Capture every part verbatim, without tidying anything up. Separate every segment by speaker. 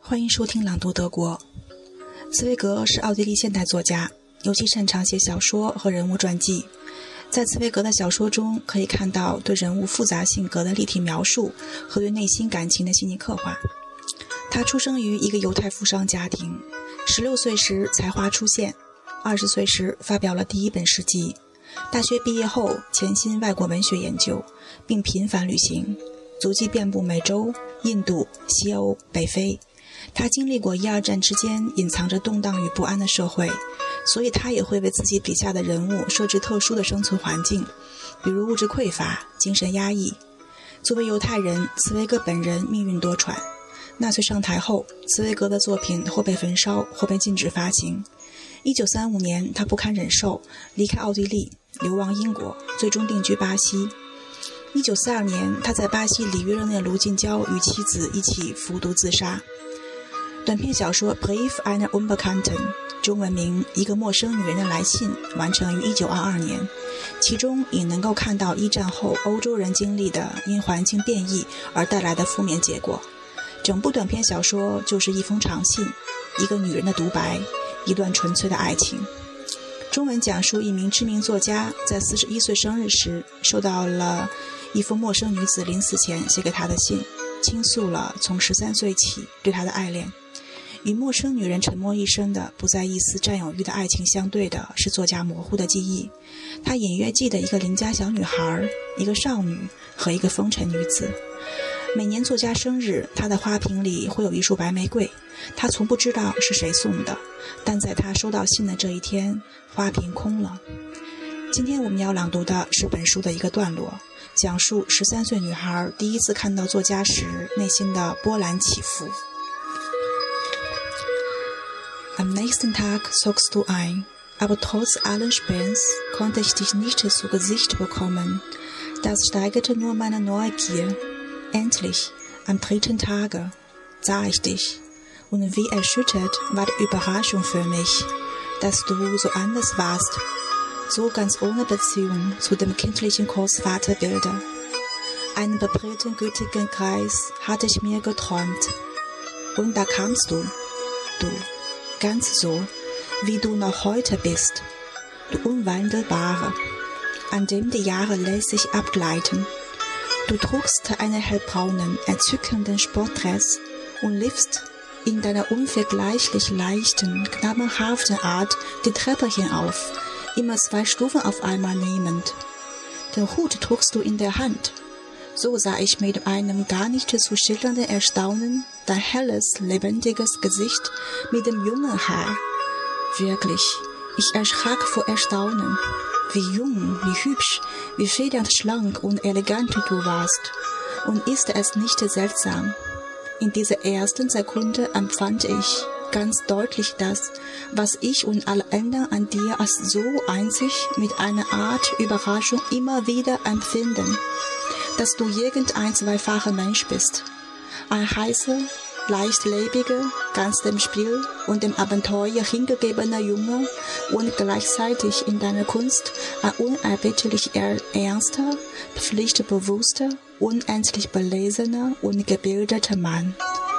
Speaker 1: 欢迎收听朗读德国。茨威格是奥地利现代作家，尤其擅长写小说和人物传记。在茨威格的小说中，可以看到对人物复杂性格的立体描述和对内心感情的细腻刻画。他出生于一个犹太富商家庭，十六岁时才华出现，二十岁时发表了第一本诗集。大学毕业后潜心外国文学研究，并频繁旅行，足迹遍布美洲、印度、西欧、北非。他经历过一二战之间隐藏着动荡与不安的社会，所以他也会为自己笔下的人物设置特殊的生存环境，比如物质匮乏、精神压抑。作为犹太人，茨威格本人命运多舛。纳粹上台后，茨威格的作品或被焚烧，或被禁止发行。一九三五年，他不堪忍受，离开奥地利，流亡英国，最终定居巴西。一九四二年，他在巴西里约热内卢近郊与妻子一起服毒自杀。短篇小说《Brief einer Unbekannten》中文名《一个陌生女人的来信》完成于一九二二年，其中也能够看到一战后欧洲人经历的因环境变异而带来的负面结果。整部短篇小说就是一封长信，一个女人的独白，一段纯粹的爱情。中文讲述一名知名作家在四十一岁生日时收到了一封陌生女子临死前写给他的信，倾诉了从十三岁起对他的爱恋。与陌生女人沉默一生的不再一丝占有欲的爱情相对的是作家模糊的记忆。他隐约记得一个邻家小女孩，一个少女和一个风尘女子。每年作家生日，他的花瓶里会有一束白玫瑰，他从不知道是谁送的，但在他收到信的这一天，花瓶空了。今天我们要朗读的是本书的一个段落，讲述十三岁女孩第一次看到作家时内心的波澜起伏。Am nächsten Tag zockst du ein, aber trotz allen Späns konnte ich dich nicht zu Gesicht bekommen. Das steigerte nur meine Neugier. Endlich, am dritten Tage, sah ich dich, und wie erschüttert war die Überraschung für mich, dass du so anders warst, so ganz ohne Beziehung zu dem kindlichen Großvaterbilde. Einen beprägten gütigen Kreis hatte ich mir geträumt. Und da kamst du, du.Ganz so, wie du noch heute bist, du Unwandelbare, an dem die Jahre lässig abgleiten. Du trugst einen hellbraunen, entzückenden Sportdress und liefst in deiner unvergleichlich leichten, knabenhaften Art die Treppe hinauf, immer zwei Stufen auf einmal nehmend. Den Hut trugst du in der Hand.So sah ich mit einem gar nicht zu schildernden Erstaunen dein helles, lebendiges Gesicht mit dem jungen Haar. Wirklich, ich erschrak vor Erstaunen. Wie jung, wie hübsch, wie federnd schlank und elegant du warst. Und ist es nicht seltsam? In dieser ersten Sekunde empfand ich ganz deutlich das, was ich und alle anderen an dir als so einzig mit einer Art Überraschung immer wieder empfinden.Dass du irgendein zweifacher Mensch bist. Ein heißer, leichtlebiger, ganz dem Spiel und dem Abenteuer hingegebener Junge und gleichzeitig in deiner Kunst ein unerbittlich ernster, pflichtbewusster, unendlich belesener und gebildeter Mann.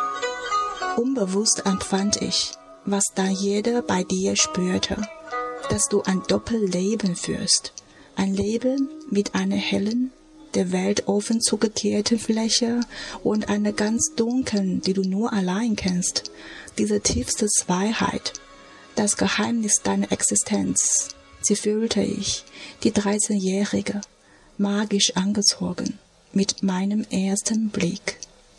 Speaker 1: Unbewusst empfand ich, was dann jeder bei dir spürte, dass du ein Doppelleben führst. Ein Leben mit einer hellen, der Welt offen zugekehrten Fläche und einer ganz dunklen, die du nur allein kennst. Diese tiefste Zweiheit, das Geheimnis deiner Existenz, sie fühlte ich, die dreizehnjährige, magisch angezogen, mit meinem ersten Blick.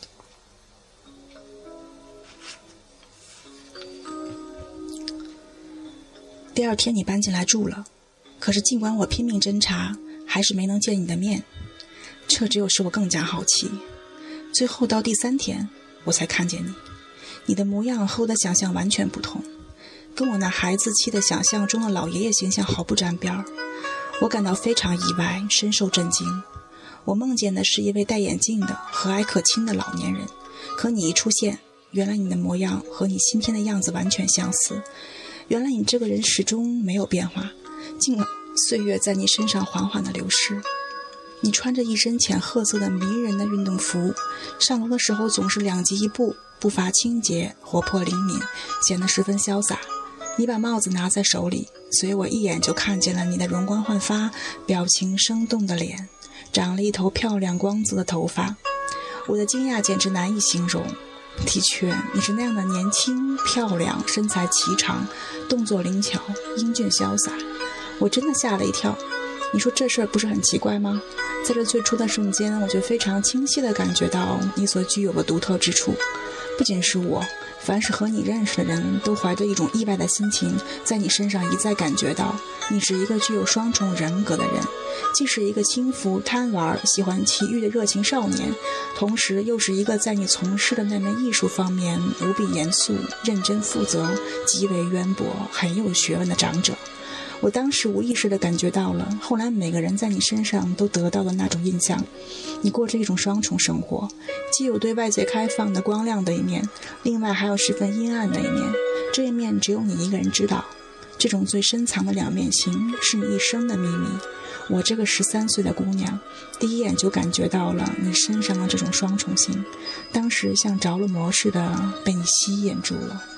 Speaker 1: 第二天你搬进来住了，可是尽管我拼命侦查，还是没能见你的面。这只有使我更加好奇。最后到第三天，我才看见你。你的模样和我的想象完全不同，跟我那孩子气的想象中的老爷爷形象毫不沾边儿。我感到非常意外，深受震惊。我梦见的是一位戴眼镜的、和蔼可亲的老年人，可你一出现，原来你的模样和你今天的样子完全相似。原来你这个人始终没有变化，尽管岁月在你身上缓缓地流逝。你穿着一身浅褐色的迷人的运动服，上楼的时候总是两级一步， 步伐清洁，活泼灵敏，显得十分潇洒。你把帽子拿在手里，随我一眼就看见了你的容光焕发、表情生动的脸，长了一头漂亮光泽的头发。我的惊讶简直难以形容。的确，你是那样的年轻漂亮，身材颀长，动作灵巧，英俊潇洒。我真的吓了一跳。你说这事儿不是很奇怪吗？在这最初的瞬间，我就非常清晰地感觉到你所具有的独特之处。不仅是我，凡是和你认识的人都怀着一种意外的心情，在你身上一再感觉到你是一个具有双重人格的人，既是一个轻浮贪玩喜欢奇遇的热情少年，同时又是一个在你从事的那门艺术方面无比严肃认真负责，极为渊博很有学问的长者。我当时无意识地感觉到了后来每个人在你身上都得到的那种印象。你过着一种双重生活，既有对外界开放的光亮的一面，另外还有十分阴暗的一面，这一面只有你一个人知道。这种最深藏的两面性是你一生的秘密。我这个十三岁的姑娘第一眼就感觉到了你身上的这种双重性，当时像着了魔似的被你吸引住了。